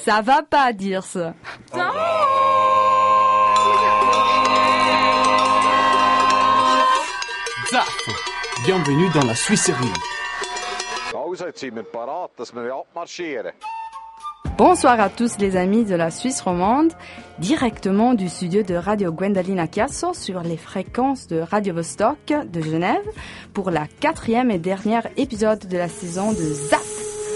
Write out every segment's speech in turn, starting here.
Ça va pas dire ça. Zaf! Bienvenue dans la Suisserie. Bonsoir à tous les amis de la Suisse romande, directement du studio de Radio Gwendoline à Chiasso sur les fréquences de Radio Vostok de Genève pour la 4e et dernière épisode de la saison de Zaf!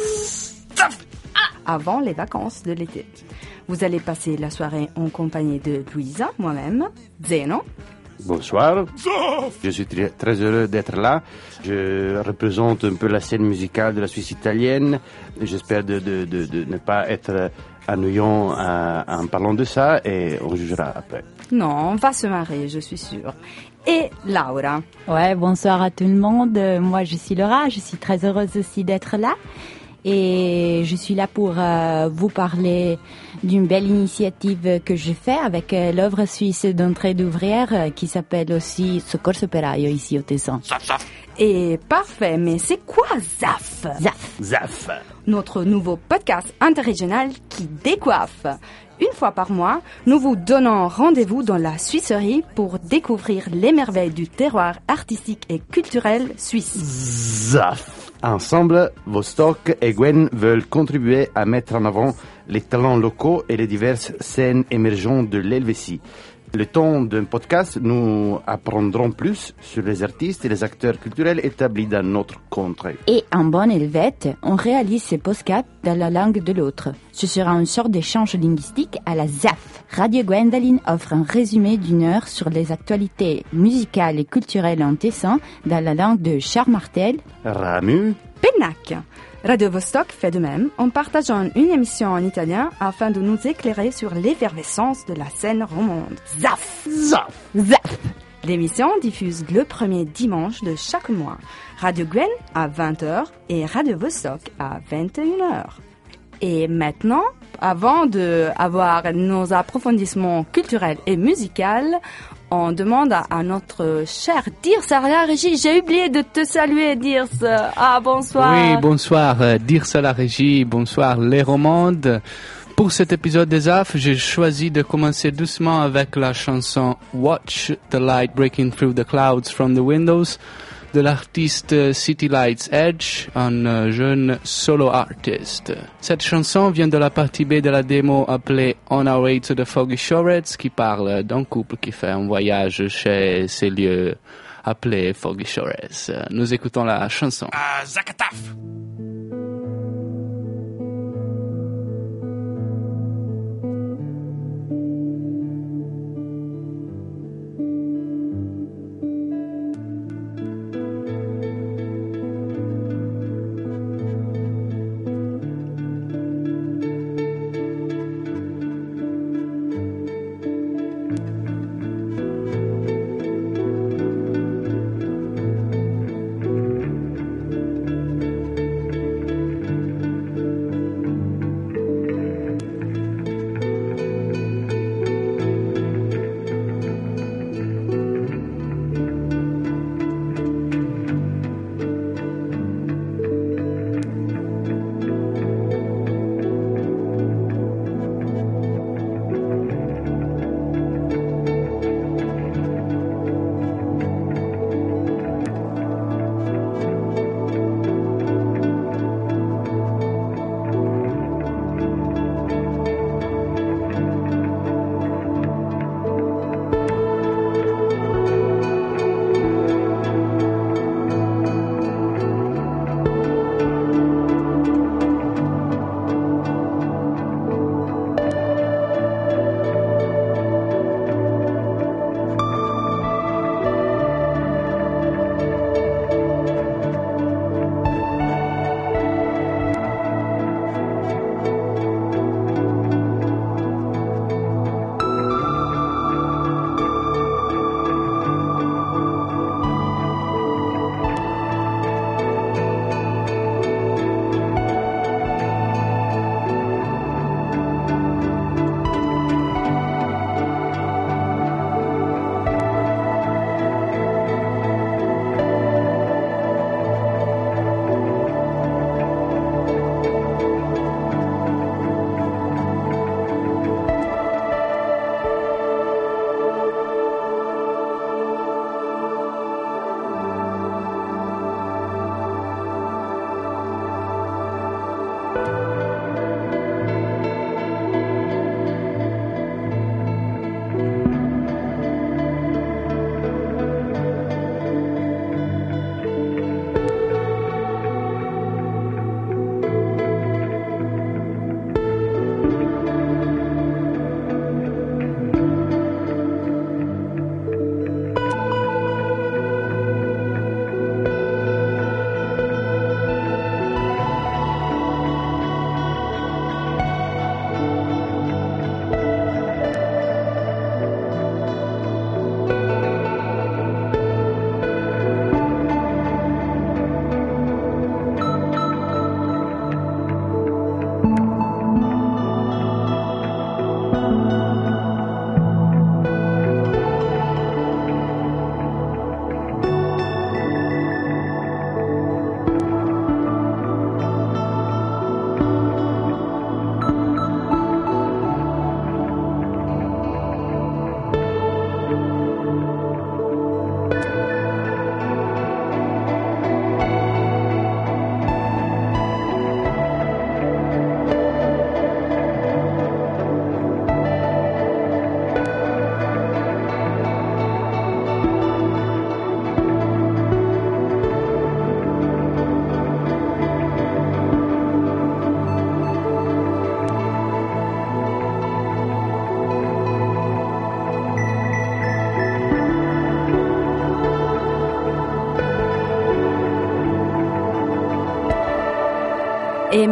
Avant les vacances de l'été. Vous allez passer la soirée en compagnie de Louisa, moi-même, Zeno. Bonsoir, je suis très heureux d'être là. Je représente un peu la scène musicale de la Suisse italienne. J'espère de ne pas être ennuyant en parlant de ça et on jugera après. Non, on va se marrer, je suis sûre. Et Laura. Ouais, bonsoir à tout le monde. Moi, je suis Laura, je suis très heureuse aussi d'être là. Et je suis là pour vous parler d'une belle initiative que je fais avec l'œuvre suisse d'entraide ouvrière qui s'appelle aussi Soccorso Operaio ici au Tessin. Et parfait, mais c'est quoi ZAF? Zaf. Notre nouveau podcast interrégional qui décoiffe. Une fois par mois, nous vous donnons rendez-vous dans la Suisserie pour découvrir les merveilles du terroir artistique et culturel suisse. Zaf. Ensemble, Vostok et Gwen veulent contribuer à mettre en avant les talents locaux et les diverses scènes émergentes de l'Helvétie. Le temps d'un podcast, nous apprendrons plus sur les artistes et les acteurs culturels établis dans notre contrée. Et en bonne helvète, on réalise ces podcasts dans la langue de l'autre. Ce sera une sorte d'échange linguistique à la ZAF. Radio Gwendoline offre un résumé d'une heure sur les actualités musicales et culturelles en Tessin dans la langue de Charles Martel, Ramu, Pennac. Radio Vostok fait de même en partageant une émission en italien afin de nous éclairer sur l'effervescence de la scène romande. ZAF! ZAF. L'émission diffuse le premier dimanche de chaque mois. Radio Gwen à 20h et Radio Vostok à 21h. Et maintenant, avant d'avoir nos approfondissements culturels et musicaux, on demande à notre cher Dirce à la régie. J'ai oublié de te saluer, Dirce. Ah, bonsoir. Oui, bonsoir, Dirce à la régie. Bonsoir, les romandes. Pour cet épisode des AF, j'ai choisi de commencer doucement avec la chanson Watch the Light Breaking Through the Clouds from the Windows de l'artiste City Lights Edge, un jeune solo artiste. Cette chanson vient de la partie B de la démo appelée On Our Way to the Foggy Shores, qui parle d'un couple qui fait un voyage chez ces lieux appelés Foggy Shores. Nous écoutons la chanson. Zakataf!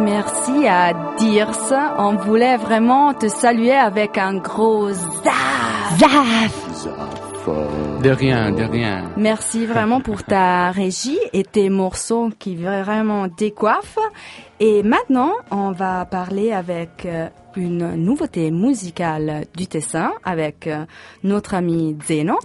merci à Dirce. On voulait vraiment te saluer avec un gros zaf. Zaf! De rien, de rien. Merci vraiment pour ta régie et tes morceaux qui vraiment décoiffent. Et maintenant, on va parler avec une nouveauté musicale du Tessin avec notre ami Zeno.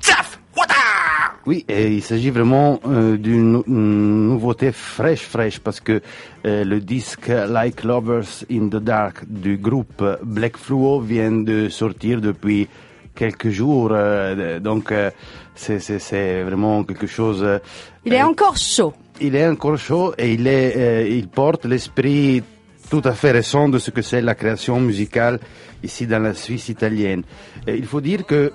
Oui, et il s'agit vraiment d'une nouveauté fraîche, parce que le disque Like Lovers in the Dark du groupe Black Fluo vient de sortir depuis quelques jours, donc c'est vraiment quelque chose. Il est encore chaud. Il est encore chaud et il porte l'esprit tout à fait récent de ce que c'est la création musicale ici dans la Suisse italienne. Et il faut dire que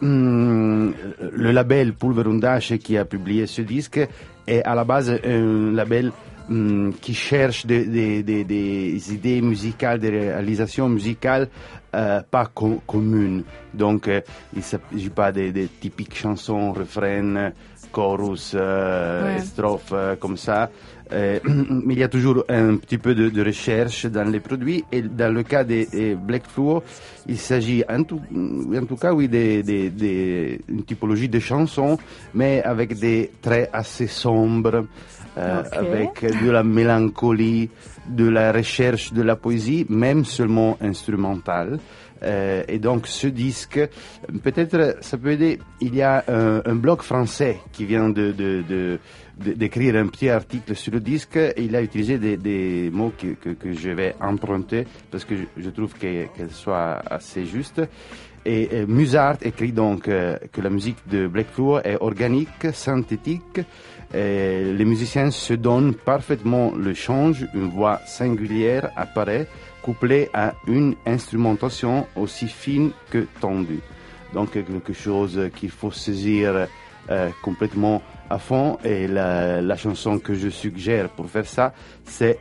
le label Pulverundache qui a publié ce disque est à la base un label qui cherche des idées musicales, des réalisations musicales pas communes. Donc il ne s'agit pas des typiques chansons, refrains, chorus, strophes comme ça. Mais il y a toujours un petit peu de recherche dans les produits, et dans le cas des Black Fluo, il s'agit en tout cas oui d'une typologie de chansons, mais avec des traits assez sombres, avec de la mélancolie, de la recherche de la poésie, même seulement instrumentale. Et donc ce disque, peut-être ça peut aider. Il y a un blog français qui vient d'écrire un petit article sur le disque. Et il a utilisé des mots que je vais emprunter parce que je trouve qu'elles soient assez justes. Et Musart écrit donc que la musique de Black Fluo est organique, synthétique. Les musiciens se donnent parfaitement le change, une voix singulière apparaît, couplée à une instrumentation aussi fine que tendue. Donc quelque chose qu'il faut saisir complètement à fond, et la chanson que je suggère pour faire ça, c'est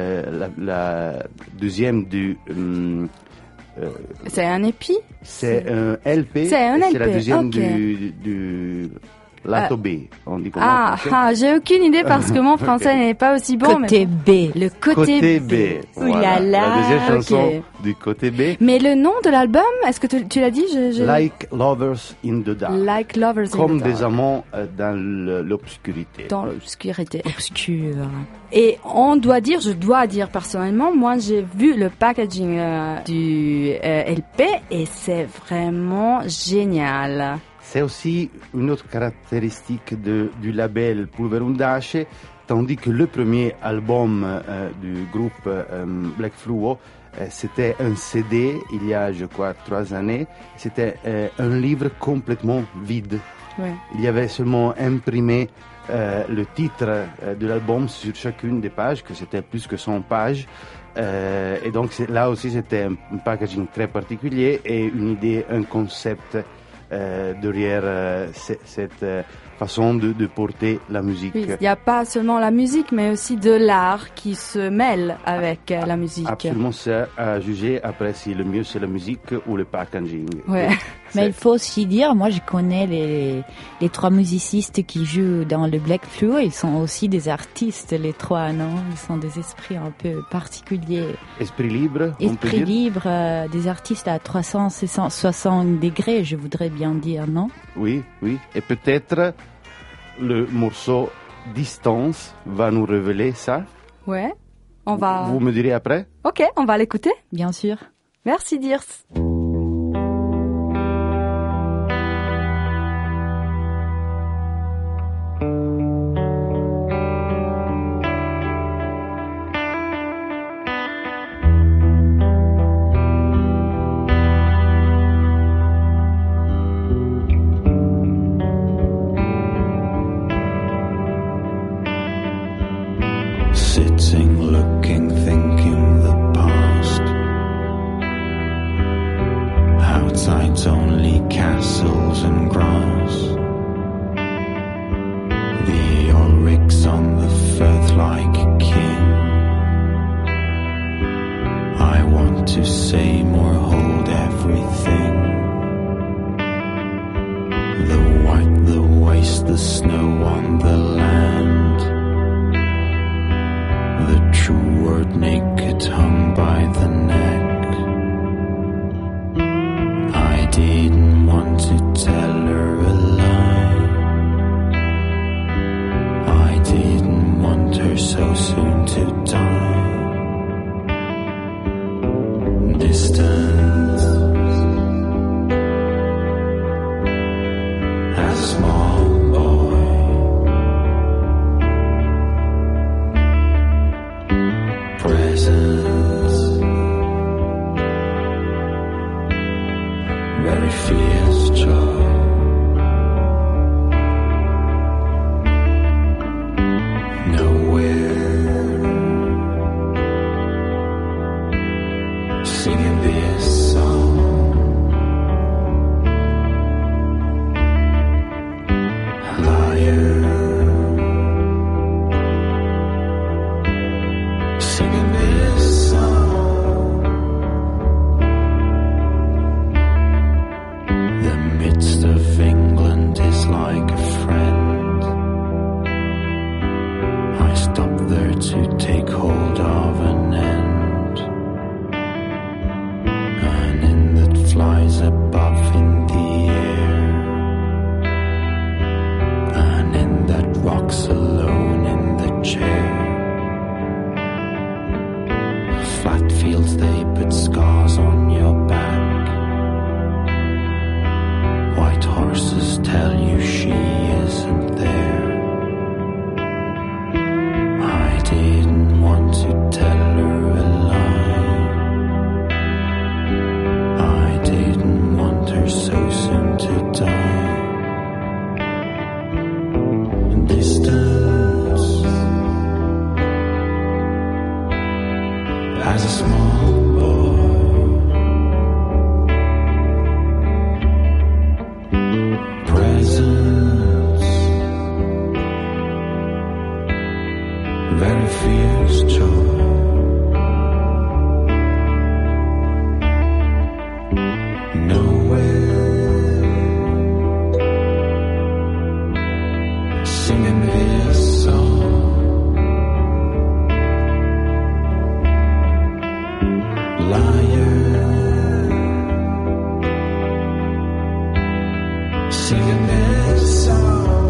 la deuxième du... c'est un épi? C'est un LP. C'est un LP, c'est la deuxième okay. du Lato B, on dit comment? J'ai aucune idée parce que mon français n'est pas aussi bon. Côté B. Le côté B. Voilà. La deuxième chanson du côté B. Mais le nom de l'album, est-ce que tu l'as dit? Like Lovers in the Dark. Like Lovers in the Dark. Comme des amants dans l'obscurité. Dans l'obscurité. Obscure. Et je dois dire personnellement, moi j'ai vu le packaging du LP et c'est vraiment génial. C'est aussi une autre caractéristique du label Pulverundache, tandis que le premier album du groupe Black Fluo, c'était un CD, il y a, je crois, 3 années. C'était un livre complètement vide. Ouais. Il y avait seulement imprimé le titre de l'album sur chacune des pages, que c'était plus que 100 pages. Et donc là aussi, c'était un packaging très particulier et une idée, un concept derrière cette façon de porter la musique. Oui, il n'y a pas seulement la musique, mais aussi de l'art qui se mêle avec la musique. Absolument, c'est à juger après si le mieux c'est la musique ou le packaging. Ouais. Mais il faut aussi dire, moi je connais les 3 musicistes qui jouent dans le Black Fluo, ils sont aussi des artistes, les 3, non? Ils sont des esprits un peu particuliers. Esprit libre, Esprit libre, des artistes à 360 degrés, je voudrais bien dire, non? Oui. Et peut-être le morceau Distance va nous révéler ça. Ouais. Vous me direz après? Ok, on va l'écouter. Bien sûr. Merci Dirce. Sitting, looking, thinking the past. Outside's only castles and grass. The oryx on the firth like a king. I want to say more, hold everything. The white, the waste, the snow on the land. The true word naked hung fierce joy. Nowhere singing this song. Liar singing this song. The midst of England is like a friend. I stop there to take hold of an end. An end that flies above in the air. An end that rocks alone in the chair. Flat fields, they put scars on your back. White horses tell you she isn't there. I didn't want to tell her a lie. I didn't want her so soon to die. Distance as a small boy. Presence, very fierce joy. Nowhere singing this song. Liar singing this song.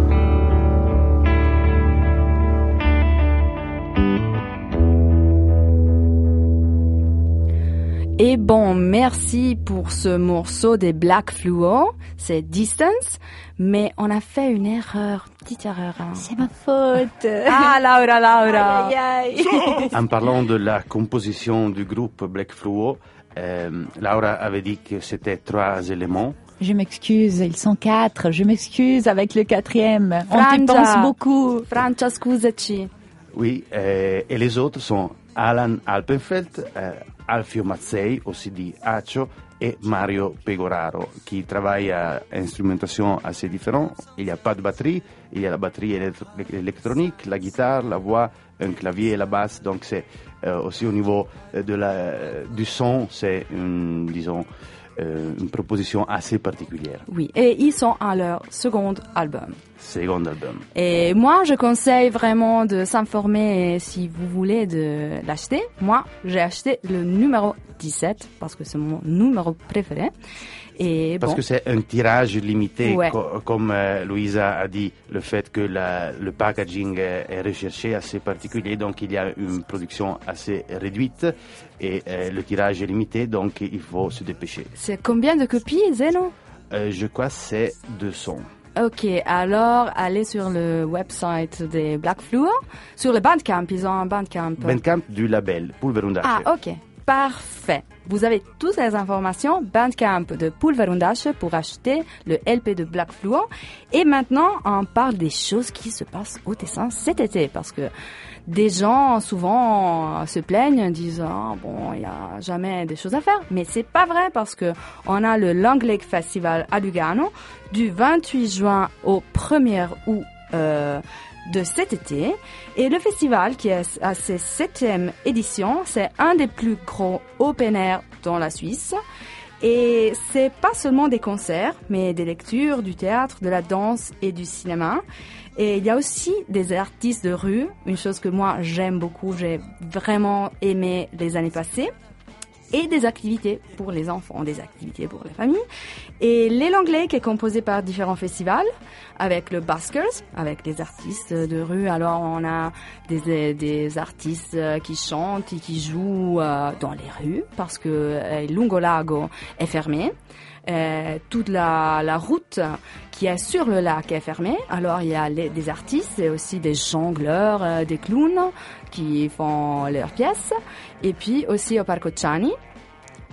Et bon, merci pour ce morceau des Black Fluo, c'est Distance, mais on a fait une erreur, petite erreur. Hein. C'est ma faute. Ah, Laura. Aïe, aïe, aïe. En parlant de la composition du groupe Black Fluo, Laura avait dit que c'était 3 éléments. Je m'excuse, ils sont 4. Je m'excuse avec le 4e. On Francia. te pense beaucoup. Francia, scusaci. Oui, et les autres sont Alan Alpenfeld, Alfio Mazzei, aussi dit Accio, et Mario Pegoraro, qui travaillent à instrumentation assez différente. Il n'y a pas de batterie, il y a la batterie électronique, la guitare, la voix, un clavier et la basse. Donc c'est aussi au niveau du son, c'est disons une proposition assez particulière. Oui, et ils sont à leur second album. Second album. Et moi, je conseille vraiment de s'informer si vous voulez de l'acheter. Moi, j'ai acheté le numéro 17 parce que c'est mon numéro préféré. Et parce bon, que c'est un tirage limité, ouais. Comme Louisa a dit, le fait que le packaging est recherché, assez particulier, donc il y a une production assez réduite et le tirage est limité, donc il faut se dépêcher. c'est combien de copies, Zeno? Je crois que c'est 200. Ok, alors allez sur le website des Black Fluo, sur le Bandcamp, ils ont un Bandcamp. Bandcamp du label Pulverundache. Ah, ok. Parfait. Vous avez toutes les informations Bandcamp de Pulverundache pour acheter le LP de Black Fluo. Et maintenant, on parle des choses qui se passent au Tessin cet été. Parce que des gens, souvent, se plaignent, disent « bon, il n'y a jamais des choses à faire ». Mais c'est pas vrai parce que on a le Long Lake Festival à Lugano du 28 juin au 1er août de cet été. Et le festival, qui est à sa 7e édition, c'est un des plus gros open air dans la Suisse. Et c'est pas seulement des concerts, mais des lectures, du théâtre, de la danse et du cinéma. Et il y a aussi des artistes de rue, une chose que moi j'aime beaucoup, j'ai vraiment aimé les années passées. Et des activités pour les enfants, des activités pour les familles. Et l'Long Lake est composé par différents festivals, avec le Buskers, avec des artistes de rue. Alors on a des artistes qui chantent et qui jouent dans les rues, parce que Lungo Lago est fermé. Toute la route qui est sur le lac est fermée. Alors il y a des artistes et aussi des jongleurs, des clowns qui font leurs pièces. Et puis aussi au Parco Ciani,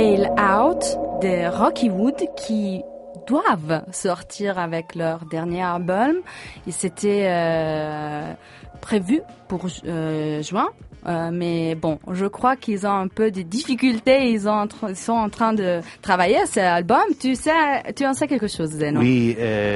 Bail Out de Rocky Wood qui doivent sortir avec leur dernier album. Et c'était prévu pour juin. Mais bon, je crois qu'ils ont un peu de difficultés. Ils sont en train de travailler à cet album. Tu en sais quelque chose, Zeno? Oui,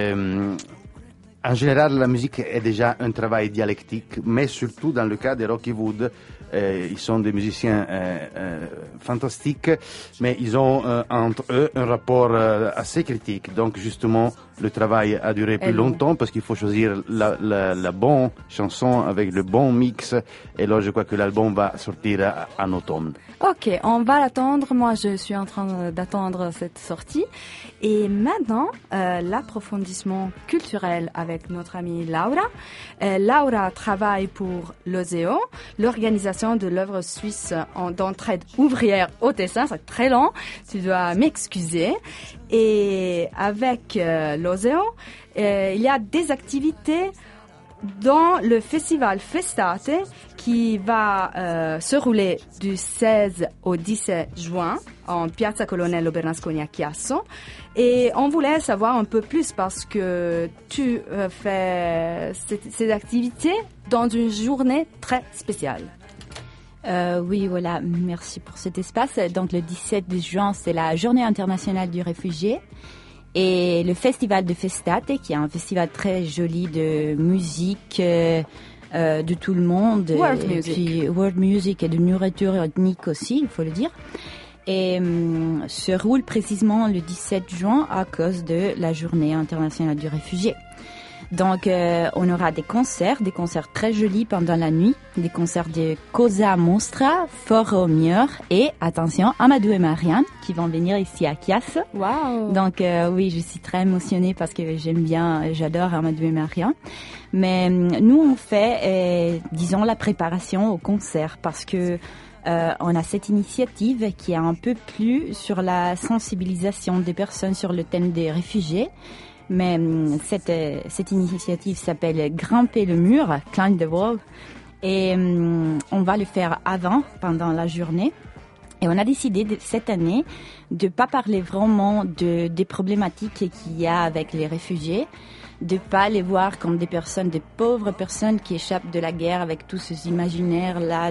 en général, la musique est déjà un travail dialectique, mais surtout dans le cas de Rocky Wood, ils sont des musiciens fantastiques, mais ils ont entre eux un rapport assez critique. Donc justement, le travail a duré plus longtemps parce qu'il faut choisir la bonne chanson avec le bon mix. Et là, je crois que l'album va sortir en automne. Ok, on va l'attendre. Moi, je suis en train d'attendre cette sortie. Et maintenant, l'approfondissement culturel avec notre amie Laura. Laura travaille pour l'OSEO, l'organisation de l'œuvre suisse d'entraide ouvrière au Tessin. C'est très long, tu dois m'excuser. Et avec l'OSEO, il y a des activités dans le festival Festate qui va se rouler du 16 au 17 juin en Piazza Colonnello Bernasconi à Chiasso. Et on voulait savoir un peu plus parce que tu fais ces activités dans une journée très spéciale. Oui, voilà, merci pour cet espace. Donc le 17 juin, c'est la Journée internationale du réfugié. Et le festival de Festate, qui est un festival très joli de musique de tout le monde. World music et de nourriture ethnique aussi, il faut le dire. Et se roule précisément le 17 juin à cause de la Journée internationale du réfugié. Donc, on aura des concerts très jolis pendant la nuit, des concerts de Cosa Mostra, Foro Mieur et, attention, Amadou et Marianne qui vont venir ici à Chiasso. Wow. Donc, oui, je suis très émotionnée parce que j'adore Amadou et Marianne. Mais nous, on fait, disons, la préparation au concert parce que on a cette initiative qui est un peu plus sur la sensibilisation des personnes sur le thème des réfugiés. Mais cette initiative s'appelle Grimper le mur, Climb the Wall, et on va le faire pendant la journée. Et on a décidé cette année de pas parler vraiment des problématiques qu'il y a avec les réfugiés, de pas les voir comme des pauvres personnes qui échappent de la guerre avec tous ces imaginaires là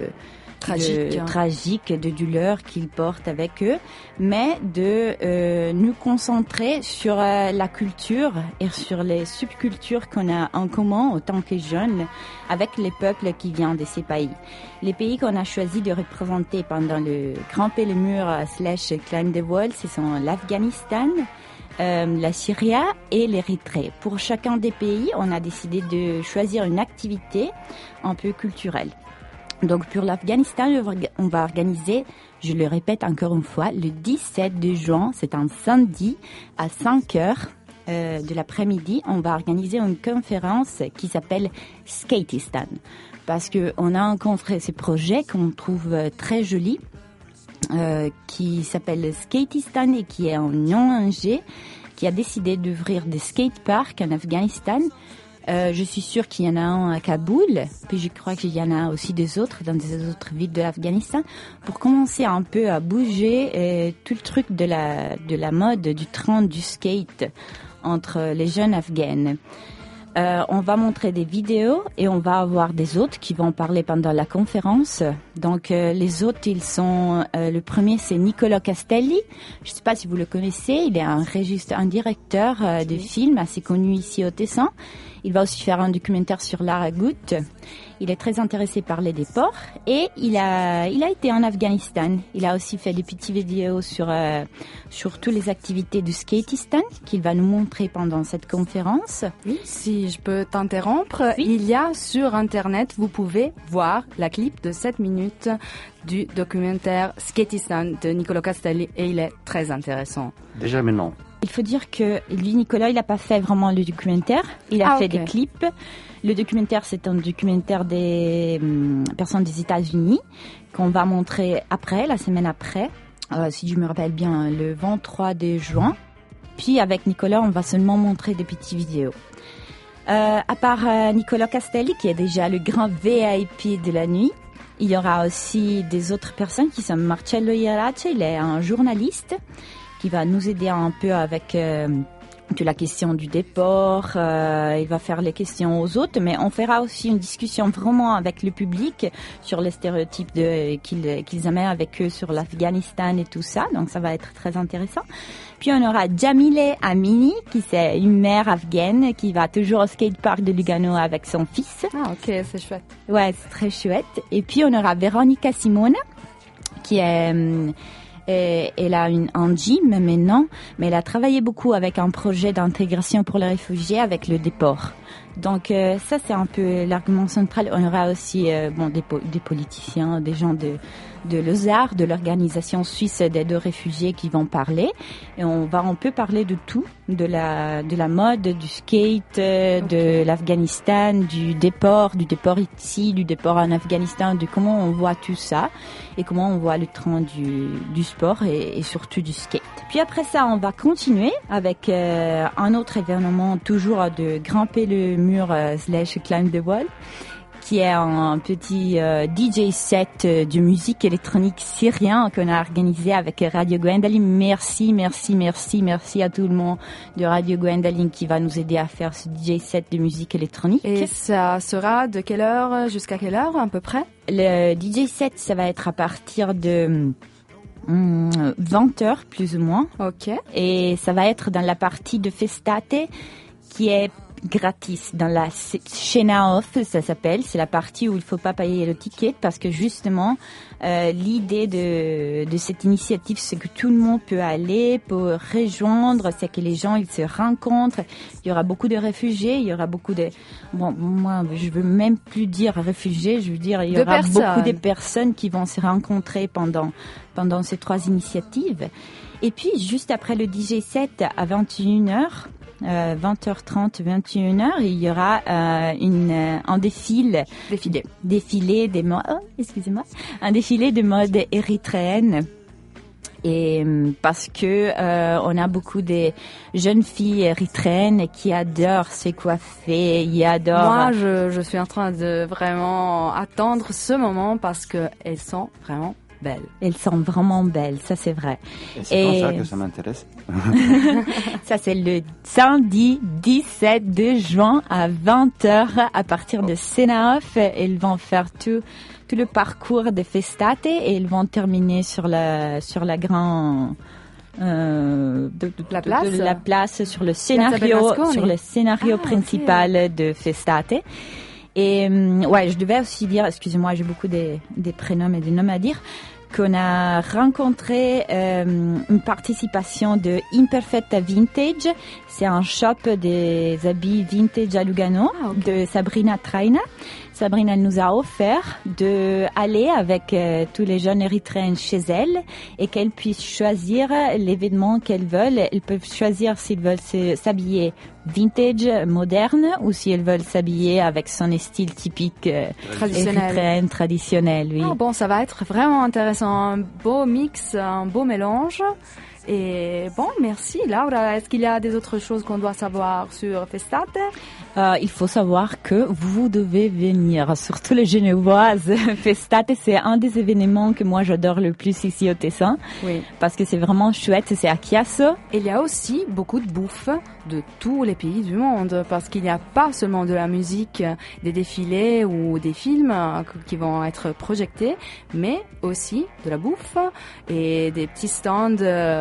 tragique, de douleur qu'ils portent avec eux, mais de nous concentrer sur la culture et sur les subcultures qu'on a en commun en tant que jeunes avec les peuples qui viennent de ces pays. Les pays qu'on a choisi de représenter pendant le Grimper le mur / Climb the Wall, ce sont l'Afghanistan, la Syrie et l'Érythrée. Pour chacun des pays, on a décidé de choisir une activité un peu culturelle. Donc pour l'Afghanistan, on va organiser, je le répète encore une fois, le 17 juin, c'est un samedi à 5h de l'après-midi, on va organiser une conférence qui s'appelle Skatistan. Parce qu'on a rencontré ce projet qu'on trouve très joli, qui s'appelle Skatistan et qui est un ONG qui a décidé d'ouvrir des skateparks en Afghanistan. Je suis sûre qu'il y en a un à Kaboul, puis je crois qu'il y en a aussi des autres dans des autres villes de l'Afghanistan, pour commencer un peu à bouger tout le truc de la mode, du trend du skate entre les jeunes afghanes. On va montrer des vidéos et on va avoir des hôtes qui vont parler pendant la conférence. Donc les hôtes, ils sont le premier, c'est Nicolas Castelli. Je ne sais pas si vous le connaissez. Il est un directeur de film assez connu ici au Tessin. Il va aussi faire un documentaire sur l'Aragout. Il est très intéressé par les déports et il a été en Afghanistan. Il a aussi fait des petites vidéos sur toutes les activités du Skatistan qu'il va nous montrer pendant cette conférence. Oui, si je peux t'interrompre, oui. Il y a sur Internet, vous pouvez voir la clip de 7 minutes du documentaire Skatistan de Nicolas Castelli et il est très intéressant. Déjà maintenant. Il faut dire que lui, Nicolas, il n'a pas fait vraiment le documentaire. Il a fait des clips. Le documentaire, c'est un documentaire des personnes des États-Unis qu'on va montrer après, la semaine après, si je me rappelle bien, le 23 juin. Puis avec Nicolas, on va seulement montrer des petites vidéos. À part Nicolas Castelli, qui est déjà le grand VIP de la nuit, Il y aura aussi des autres personnes qui sont Marcello Iarace, il est un journaliste qui va nous aider un peu avec toute la question du déport, il va faire les questions aux autres, mais on fera aussi une discussion vraiment avec le public sur les stéréotypes qu'ils amènent avec eux sur l'Afghanistan et tout ça, donc ça va être très intéressant. Puis on aura Jamile Amini, qui c'est une mère afghane qui va toujours au skatepark de Lugano avec son fils. Ah ok, c'est chouette. Ouais, c'est très chouette. Et puis on aura Veronica Simone, qui est... elle a un gym maintenant, mais elle a travaillé beaucoup avec un projet d'intégration pour les réfugiés avec le déport. Donc ça c'est un peu l'argument central. On aura aussi des politiciens, des gens de l'ESAR, de l'organisation suisse d'aide aux réfugiés qui vont parler. Et on va un peu parler de tout, de la mode, du skate, de l'Afghanistan, du déport ici, du déport en Afghanistan, de comment on voit tout ça et comment on voit le train du sport et surtout du skate. Puis après ça, on va continuer avec un autre événement, toujours de grimper le mur / climb the wall, qui est un petit DJ set de musique électronique syrien qu'on a organisé avec Radio Gwendoline. Merci à tout le monde de Radio Gwendoline qui va nous aider à faire ce DJ set de musique électronique. Et ça sera de quelle heure jusqu'à quelle heure à peu près? Le DJ set, ça va être à partir de 20h plus ou moins. Ok. Et ça va être dans la partie de Festate qui est gratis dans la Scena Off, ça s'appelle. C'est la partie où il faut pas payer le ticket parce que justement l'idée de cette initiative, c'est que tout le monde peut aller, peut rejoindre, c'est que les gens ils se rencontrent. Il y aura beaucoup de réfugiés, il y aura beaucoup de moi je veux même plus dire réfugiés, je veux dire il y aura beaucoup de personnes qui vont se rencontrer pendant ces 3 initiatives. Et puis juste après le DJ set à 21h 20h30, 21h, il y aura un défilé de mode érythréenne. Et parce que on a beaucoup de jeunes filles érythréennes qui adorent se coiffer, Moi, je suis en train de vraiment attendre ce moment parce que elles sont vraiment belles. Elles sont vraiment belles, ça c'est vrai. Et c'est comme ça que ça m'intéresse. Ça c'est le samedi 17 de juin à 20h à partir de Senaoff. Elles vont faire tout le parcours de Festate et ils vont terminer sur la grande la place sur le scénario principal de Festate. Et ouais, je devais aussi dire, excusez-moi, j'ai beaucoup des prénoms et des noms à dire, qu'on a rencontré une participation de Imperfetta Vintage. C'est un shop des habits vintage à Lugano, de Sabrina Traina. Sabrina nous a offert d'aller avec tous les jeunes érythréennes chez elle et qu'elles puissent choisir les vêtements qu'elles veulent. Elles peuvent choisir s'ils veulent s'habiller vintage, moderne, ou si elles veulent s'habiller avec son style typique érythréenne, traditionnel. Oui. Ah bon, ça va être vraiment intéressant. Un beau mix, un beau mélange. Et bon, merci Laura. Est-ce qu'il y a des autres choses qu'on doit savoir sur Festate? Il faut savoir que vous devez venir, surtout les Genevoises. Festate, c'est un des événements que moi j'adore le plus ici au Tessin. Oui. Parce que c'est vraiment chouette, c'est à Chiasso. Il y a aussi beaucoup de bouffe de tous les pays du monde, parce qu'il n'y a pas seulement de la musique, des défilés ou des films qui vont être projetés, mais aussi de la bouffe et des petits stands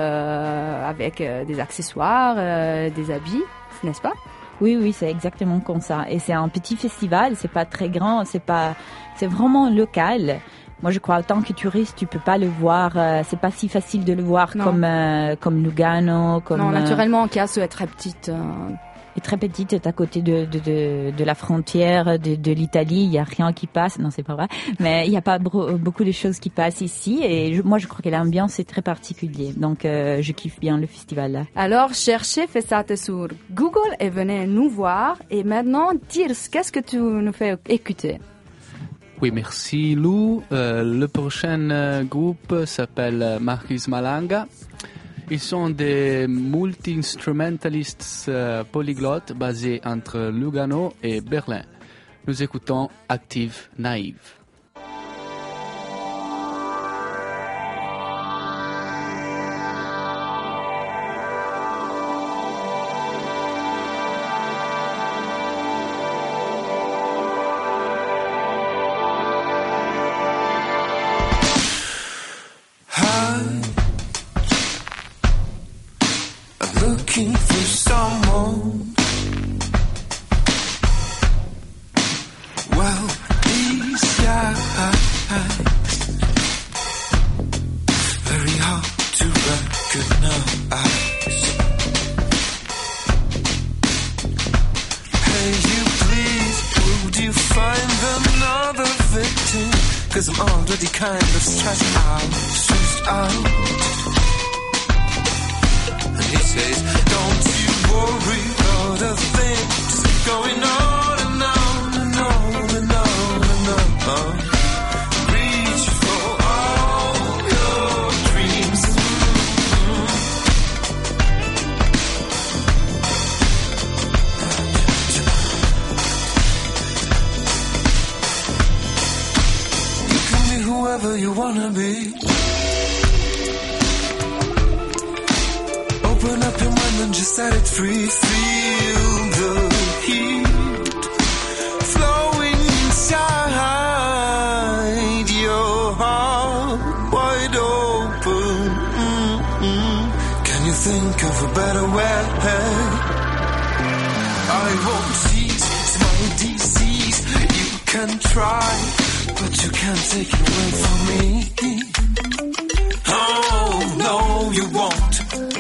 avec des accessoires, des habits, n'est-ce pas? Oui, c'est exactement comme ça. Et c'est un petit festival, c'est pas très grand, c'est vraiment local. Moi, je crois, en tant que touriste, tu peux pas le voir, c'est pas si facile de le voir comme Lugano, comme... Non, naturellement, Chiasso est très petite. Est très petite, est à côté de la frontière de l'Italie, il y a rien qui passe, non c'est pas vrai, mais il y a pas beaucoup de choses qui passent ici et moi je crois que l'ambiance est très particulière, donc je kiffe bien le festival là. Alors cherchez Festate sur Google et venez nous voir. Et maintenant, Tirs, qu'est-ce que tu nous fais écouter? Oui, merci Lou. Le prochain groupe s'appelle Marquis Malanga. Ils sont des multi-instrumentalistes polyglottes basés entre Lugano et Berlin. Nous écoutons Active Naïve. looking for someone. Well, these eyes, very hard to recognize. Hey, you please, would you find another victim? 'Cause I'm already kind of stressed out. And he says, don't you worry about a thing, just keep going on and on and on and on and on. Reach for all your dreams. You can be whoever you wanna be. Open up your mind and just set it free. Feel the heat flowing inside your heart, wide open. Can you think of a better way? I won't cease, it's my disease. You can try, but you can't take it away from me. Oh, no, you won't.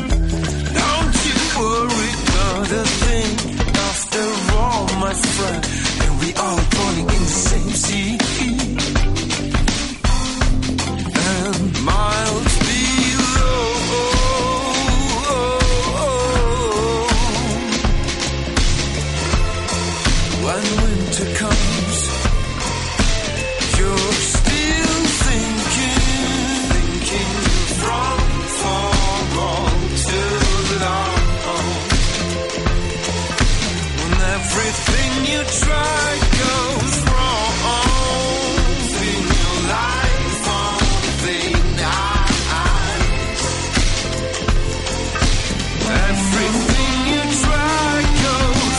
Worry about a thing. After all, my friend, and we are falling in the same sea. And miles below, when winter comes, you're still thinking from far on to long. Everything you try goes wrong. Feel your life on thin ice. Everything you try goes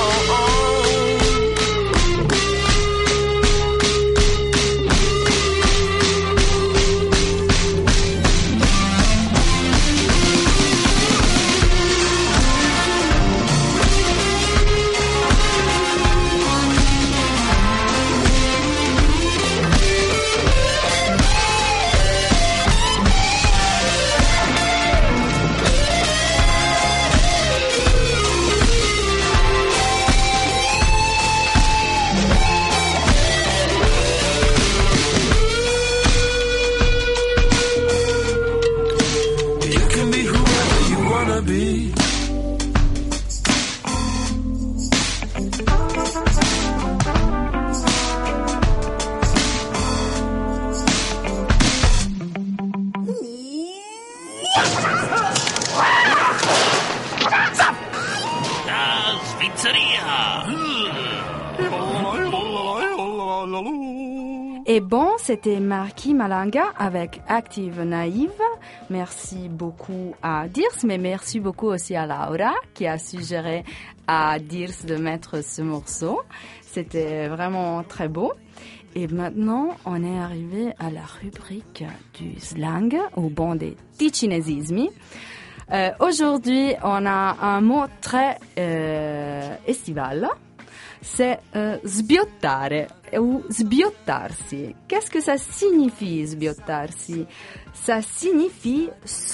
Et bon, c'était Marky Malanga avec Active Naïve. Merci beaucoup à Dirce, mais merci beaucoup aussi à Laura qui a suggéré à Dirce de mettre ce morceau. C'était vraiment très beau. Et maintenant, on est arrivé à la rubrique du slang, au bon des ticinésismi. Aujourd'hui, on a un mot très estival. C'est sbiottare ou sbiottarsi. Qu'est-ce que ça signifie, sbiottarsi? Ça signifie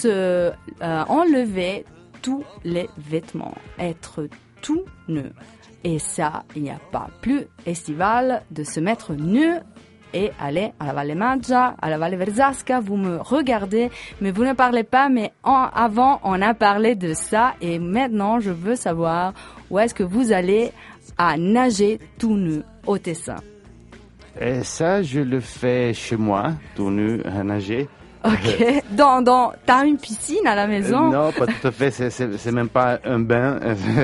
enlever tous les vêtements, être tout nu. Et ça, il n'y a pas plus estival de se mettre nu et aller à la Valle Maggia, à la Valle Verzasca. Vous me regardez, mais vous ne parlez pas. Mais avant, on a parlé de ça. Et maintenant, je veux savoir où est-ce que vous allez à nager tout nu au Tessin. Et ça, je le fais chez moi, tout nu, à nager. Ok. T'as une piscine à la maison? Non, pas tout à fait. C'est même pas un bain.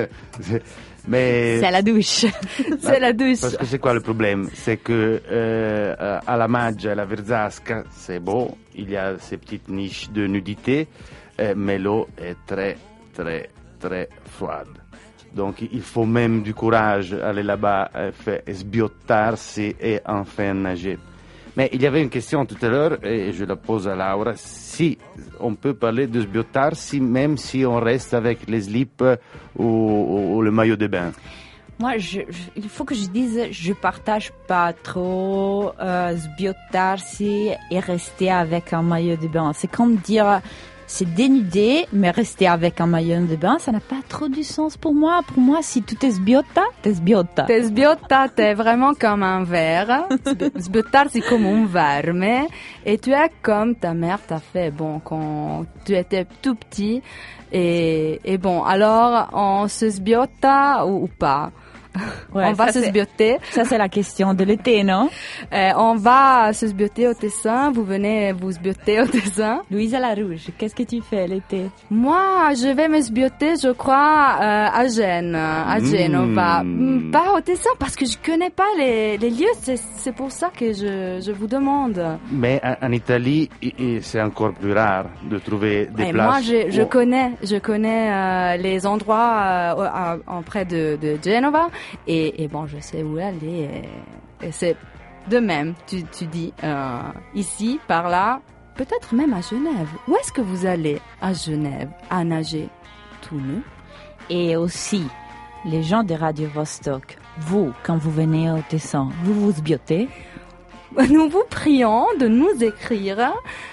Mais c'est la douche. C'est la douche. Parce que c'est quoi le problème? C'est que à la Maggia, à la Verzasca, c'est beau. Il y a ces petites niches de nudité, mais l'eau est très, très, très froide. Donc il faut même du courage aller là-bas, sbiottarsi et enfin nager. Mais il y avait une question tout à l'heure, et je la pose à Laura, si on peut parler de sbiottarsi même si on reste avec les slips ou le maillot de bain. Moi, il faut que je dise, je partage pas trop sbiottarsi et rester avec un maillot de bain. C'est comme dire, c'est dénudé, mais rester avec un maillot de bain, ça n'a pas trop du sens pour moi. Pour moi, si tu t'es sbiotta, t'es sbiotta. T'es sbiotta, t'es vraiment comme un verre. Sbiottarsi comme un verme. Et tu es comme ta mère t'a fait, bon, quand tu étais tout petit. Et bon, alors, on se sbiotta ou pas? Ouais, on va se sbiotter. Ça, c'est la question de l'été, non? On va se sbiotter au Tessin. Vous venez vous sbiotter au Tessin. Louisa Larouge, qu'est-ce que tu fais l'été? Moi, je vais me sbiotter, je crois, à Gênes, à Genova. Pas au Tessin, parce que je connais pas les lieux. C'est pour ça que je vous demande. Mais en Italie, c'est encore plus rare de trouver des places. Moi, je connais les endroits près de Genova. Et bon, je sais où aller. Et c'est de même, tu dis, ici, par là, peut-être même à Genève. Où est-ce que vous allez à Genève, à nager tout nu? Et aussi, les gens de Radio Vostok, vous, quand vous venez au Tessin, vous vous sbiottez? Nous vous prions de nous écrire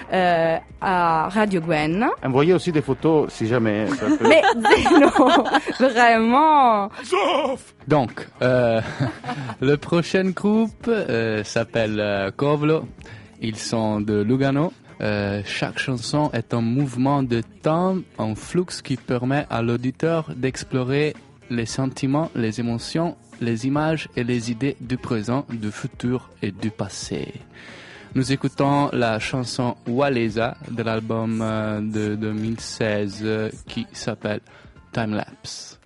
à Radio Gwen. Envoyez aussi des photos si jamais. Ça peut... Mais non, vraiment. Donc, le prochain groupe s'appelle Covlo. Ils sont de Lugano. Chaque chanson est un mouvement de temps, un flux qui permet à l'auditeur d'explorer les sentiments, les émotions, les images et les idées du présent, du futur et du passé. Nous écoutons la chanson Walesa de l'album de 2016 qui s'appelle Time Lapse.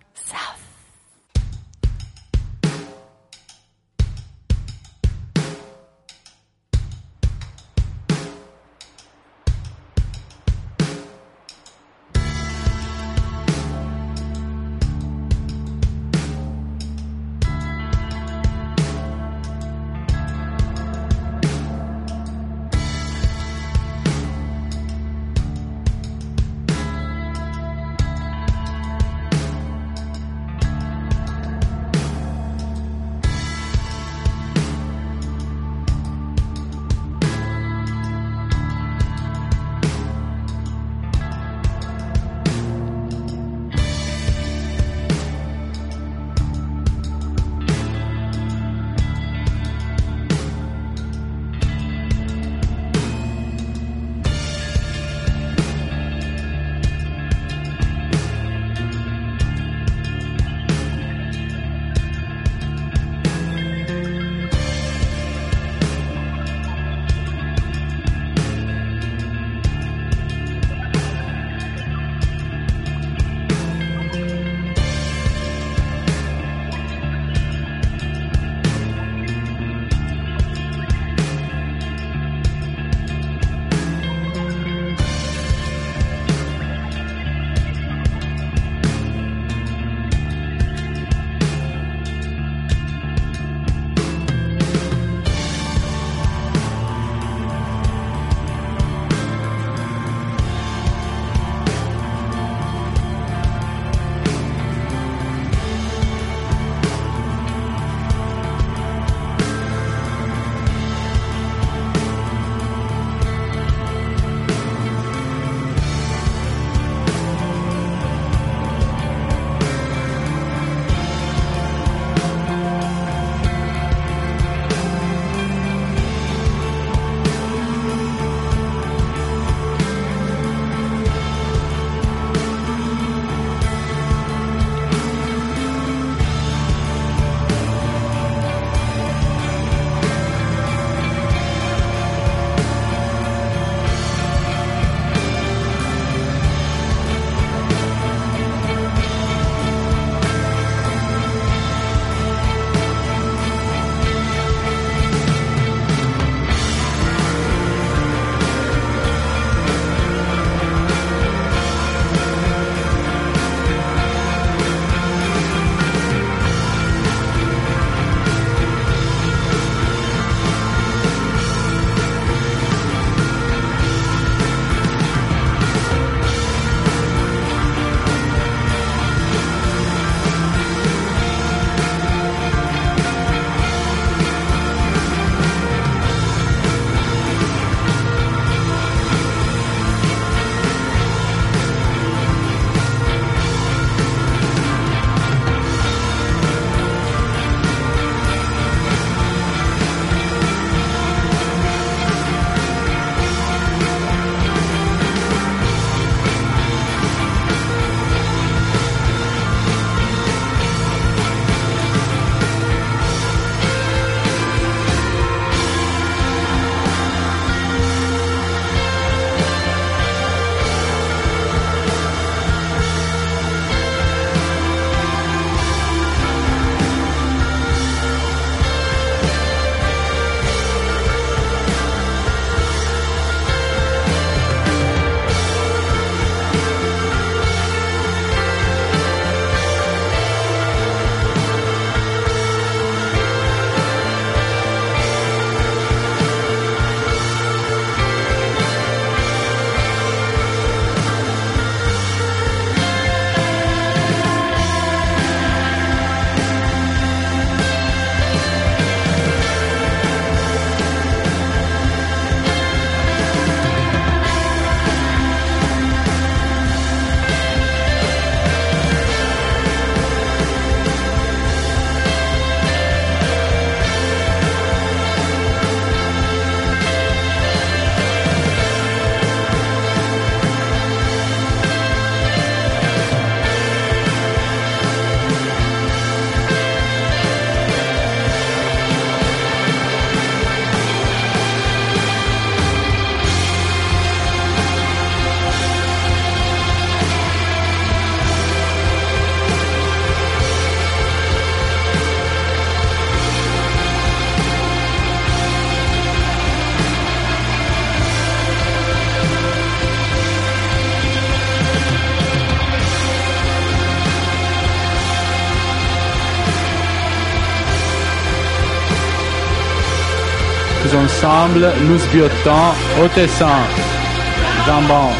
ensemble, nous sbiotons au tessin. Jambon.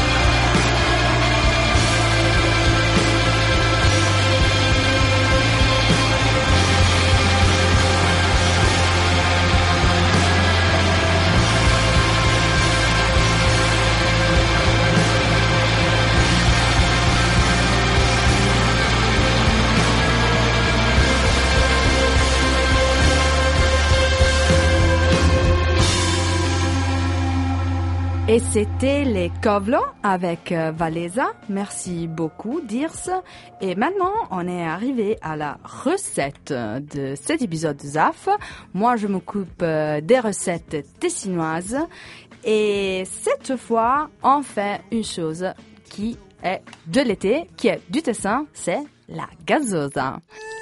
Et c'était les Kovlo avec Valesa. Merci beaucoup, Dirce. Et maintenant, on est arrivé à la recette de cet épisode de ZAF. Moi, je m'occupe des recettes tessinoises. Et cette fois, on fait une chose qui est de l'été, qui est du Tessin, c'est la gazosa.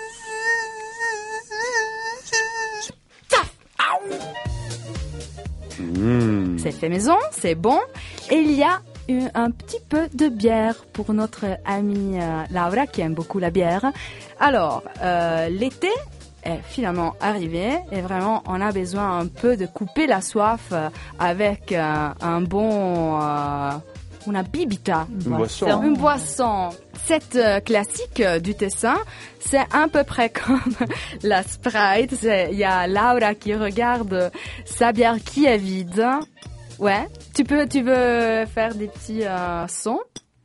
C'est fait maison, c'est bon. Et il y a un petit peu de bière pour notre amie Laura qui aime beaucoup la bière. Alors, l'été est finalement arrivé et vraiment on a besoin un peu de couper la soif avec un bon... una bibita, une boisson. Cette classique du Tessin, c'est à peu près comme la Sprite. Il y a Laura qui regarde sa bière qui est vide. Ouais, tu veux faire des petits sons.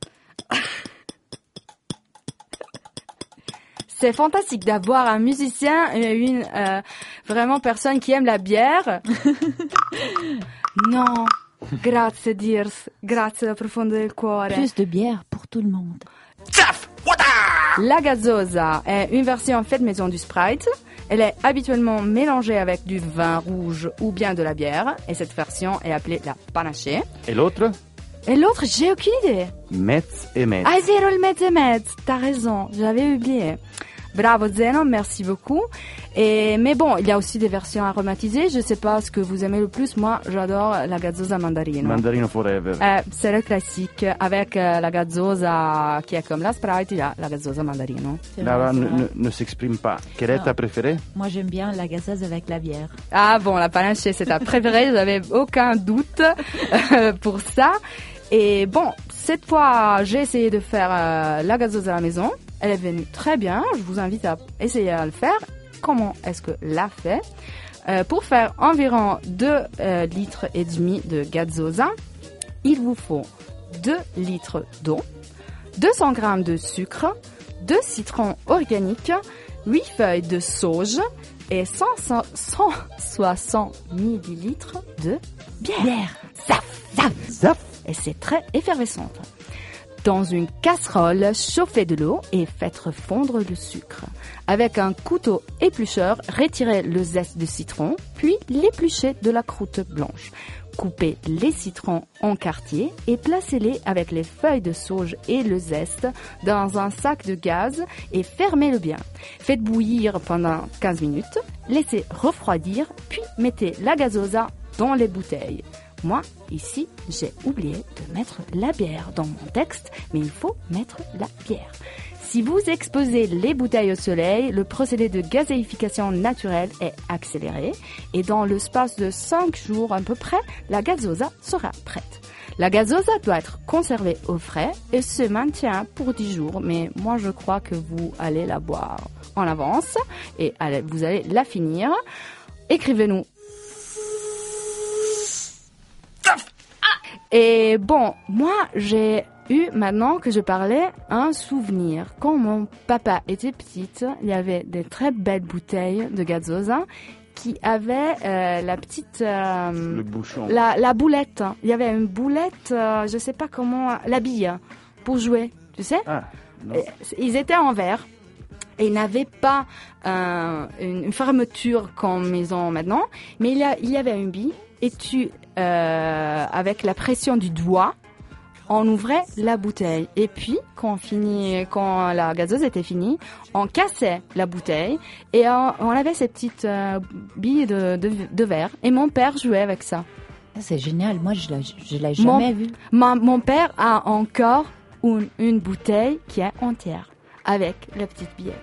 C'est fantastique d'avoir un musicien et une vraiment personne qui aime la bière. Non. Grazie Dirce, grazie da profondo del cuore. Plus de bière pour tout le monde. La gazosa est une version faite maison du Sprite. Elle est habituellement mélangée avec du vin rouge ou bien de la bière. Et cette version est appelée la panaché. Et l'autre? Et l'autre, j'ai aucune idée. Metz et Metz. Ah, zéro le Metz et Metz. T'as raison, j'avais oublié. Bravo Zeno, merci beaucoup. Mais bon, il y a aussi des versions aromatisées. Je sais pas ce que vous aimez le plus. Moi, j'adore la gazzosa mandarino. Mandarino forever. C'est le classique. Avec la gazzosa qui est comme la Sprite, il y a la gazzosa mandarino. Laura ne s'exprime pas. Quelle est ta préférée? Moi, j'aime bien la gazeuse avec la bière. Ah bon, la panaché, c'est ta préférée. J'avais aucun doute pour ça. Et bon, cette fois, j'ai essayé de faire la gazzosa à la maison. Elle est venue très bien. Je vous invite à essayer à le faire. Comment est-ce que l'a fait? Pour faire environ 2 litres et demi de gazzosa, il vous faut 2 litres d'eau, 200 g de sucre, 2 citrons organiques, 8 feuilles de sauge et 160 millilitres de bière. Zaf. Et c'est très effervescente. Dans une casserole, chauffez de l'eau et faites fondre le sucre. Avec un couteau éplucheur, retirez le zeste de citron, puis l'épluchez de la croûte blanche. Coupez les citrons en quartiers et placez-les avec les feuilles de sauge et le zeste dans un sac de gaz et fermez-le bien. Faites bouillir pendant 15 minutes, laissez refroidir, puis mettez la gazosa dans les bouteilles. Moi, ici, j'ai oublié de mettre la bière dans mon texte, mais il faut mettre la bière. Si vous exposez les bouteilles au soleil, le procédé de gazéification naturelle est accéléré et dans l'espace de 5 jours à peu près, la gazosa sera prête. La gazosa doit être conservée au frais et se maintient pour 10 jours, mais moi je crois que vous allez la boire en avance et vous allez la finir. Écrivez-nous. Et bon, moi, j'ai eu, maintenant que je parlais, un souvenir. Quand mon papa était petite, il y avait des très belles bouteilles de gazzosa qui avaient la petite... le bouchon. La boulette. Il y avait une boulette, je sais pas comment, la bille pour jouer, tu sais. Ah, non. Ils étaient en verre. Et ils n'avaient pas une fermeture comme ils ont maintenant, mais il y avait une bille et avec la pression du doigt, on ouvrait la bouteille. Et puis, quand la gazeuse était finie, on cassait la bouteille et on avait ces petites billes de verre. Et mon père jouait avec ça. C'est génial. Moi, je l'ai jamais vu. Mon père a encore une bouteille qui est entière avec la petite billette.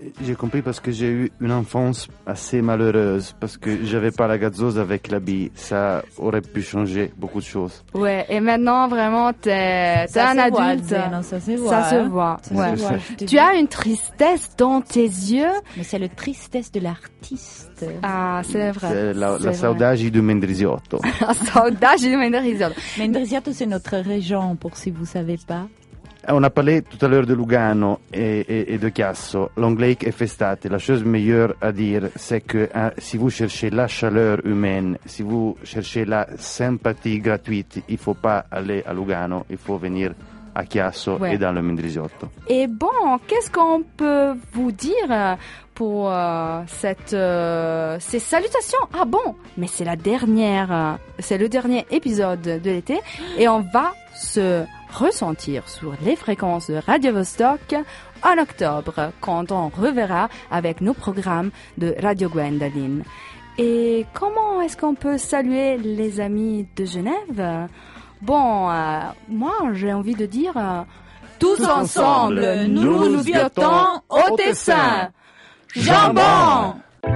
J'ai compris parce que j'ai eu une enfance assez malheureuse, parce que j'avais pas la gazeuse avec la bille. Ça aurait pu changer beaucoup de choses. Ouais, et maintenant, vraiment, t'es un adulte. Ça se voit. Ça se voit. Ouais. voit, je te Tu dis. as une tristesse dans tes yeux. Mais c'est la tristesse de l'artiste. Ah, c'est vrai. C'est la C'est vrai. saudade du Mendrisiotto. La saudade du Mendrisiotto. Mendrisiotto, c'est notre région, pour si vous savez pas. On a parlé tout à l'heure de Lugano et de Chiasso. L'anglais est festate. La chose meilleure à dire, c'est que si vous cherchez la chaleur humaine, si vous cherchez la sympathie gratuite, il faut pas aller à Lugano, il faut venir à Chiasso Ouais. et dans le Mendrisiotto. Et bon, qu'est-ce qu'on peut vous dire pour ces salutations? Ah bon, mais c'est la dernière, c'est le dernier épisode de l'été et on va se ressentir sur les fréquences de Radio Vostok en octobre quand on reverra avec nos programmes de Radio Gwendoline. Et comment est-ce qu'on peut saluer les amis de Genève? Bon, moi j'ai envie de dire tous ensemble, nous nous votons au Tessin. Jambon!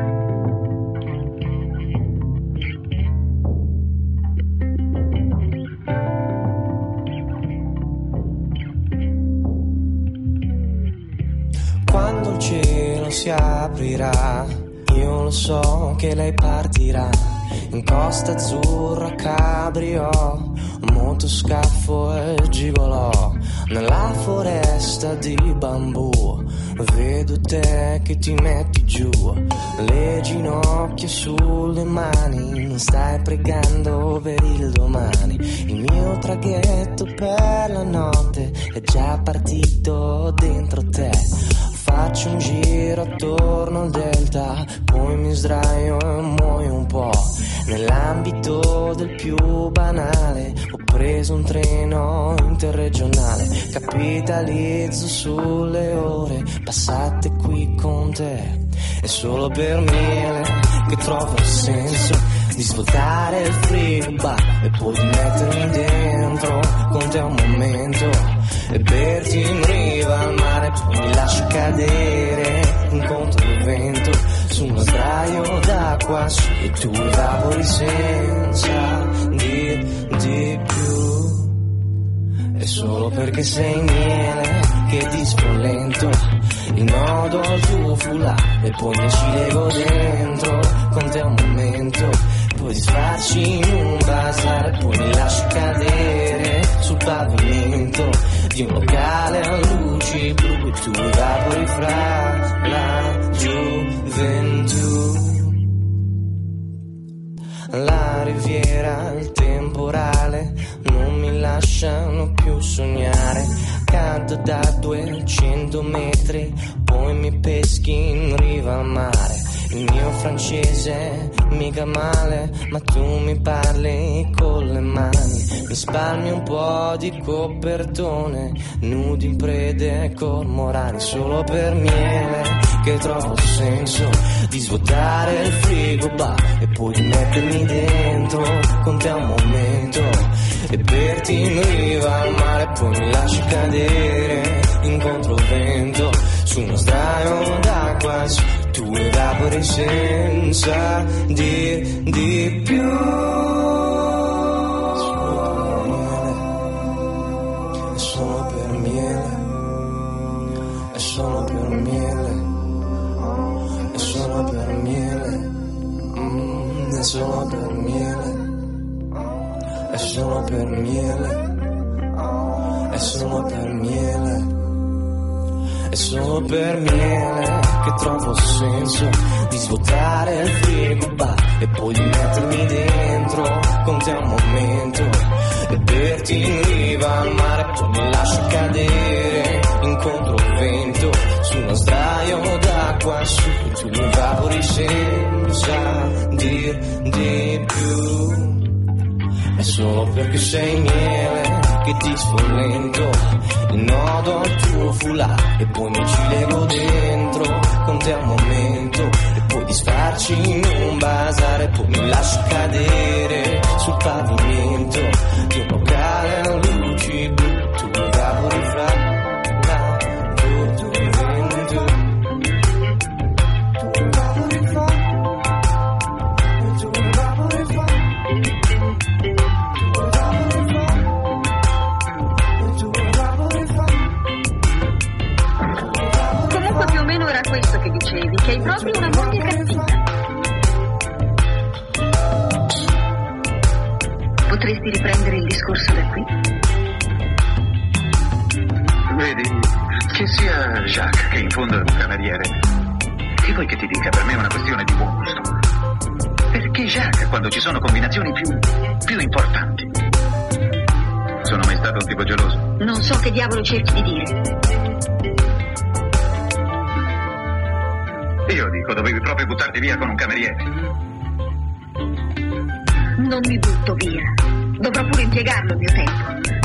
Quando il cielo si aprirà, io lo so che lei partirà in Costa Azzurra, Cabrio, motoscafo e gigolò nella foresta di bambù. Vedo te che ti metti giù, le ginocchia sulle mani, non stai pregando per il domani. Il mio traghetto per la notte è già partito dentro te. Faccio un giro attorno al delta, poi mi sdraio e muoio un po'. Nell'ambito del più banale ho preso un treno interregionale, capitalizzo sulle ore passate qui con te. È solo per miele che trovo il senso di svuotare il frigo e poi di mettermi dentro con te un momento e berti in riva al mare, poi mi lascio cadere incontro il vento su uno sdraio d'acqua e tu evapori senza dir di più. È solo perché sei miele che ti sfollento il nodo al tuo foulard e poi mi ci lego dentro con te un momento, poi disfarci in un bazar e poi mi lasci cadere sul pavimento di un locale a luci blu e tu evapori fra la gioventù. La riviera, il temporale non mi lasciano più sognare. Cado da 200 metri, poi mi peschi in riva al mare. Il mio francese mica male, ma tu mi parli con le mani. Mi spalmi un po' di copertone, nudi in prede cormorani. Solo per miele che trovo il senso di svuotare il frigo e poi di mettermi dentro con te un momento e berti in riva al mare, poi mi lasci cadere incontro il vento su uno sdraio d'acqua, tu evapori senza dir di più. È solo per miele, è solo per miele, è solo per miele, è solo per miele, è solo per miele, è solo per miele. È solo per miele che trovo il senso di svuotare il frigo e poi di mettermi dentro con te un momento e berti in riva al mare, poi mi lascio cadere incontro il vento su uno sdraio d'acqua su e tu mi evapori senza dir di più. È solo perché sei miele che ti sfollento il nodo al tuo foulard e poi mi ci lego dentro con te un momento e poi disfarci in un bazar e poi mi lascio cadere sul pavimento di un locale a luci blu, tu evapori fra la gioventù. che hai proprio una moglie cattiva. Potresti riprendere il discorso da qui? Vedi, che sia Jacques che in fondo è un cameriere, che vuoi che ti dica? Per me è una questione di buon gusto. Perché Jacques, quando ci sono combinazioni più importanti? Sono mai stato un tipo geloso? Non so che diavolo cerchi di dire. Io dico, dovevi proprio buttarti via con un cameriere. Non mi butto via. Dovrò pure impiegarlo il mio tempo.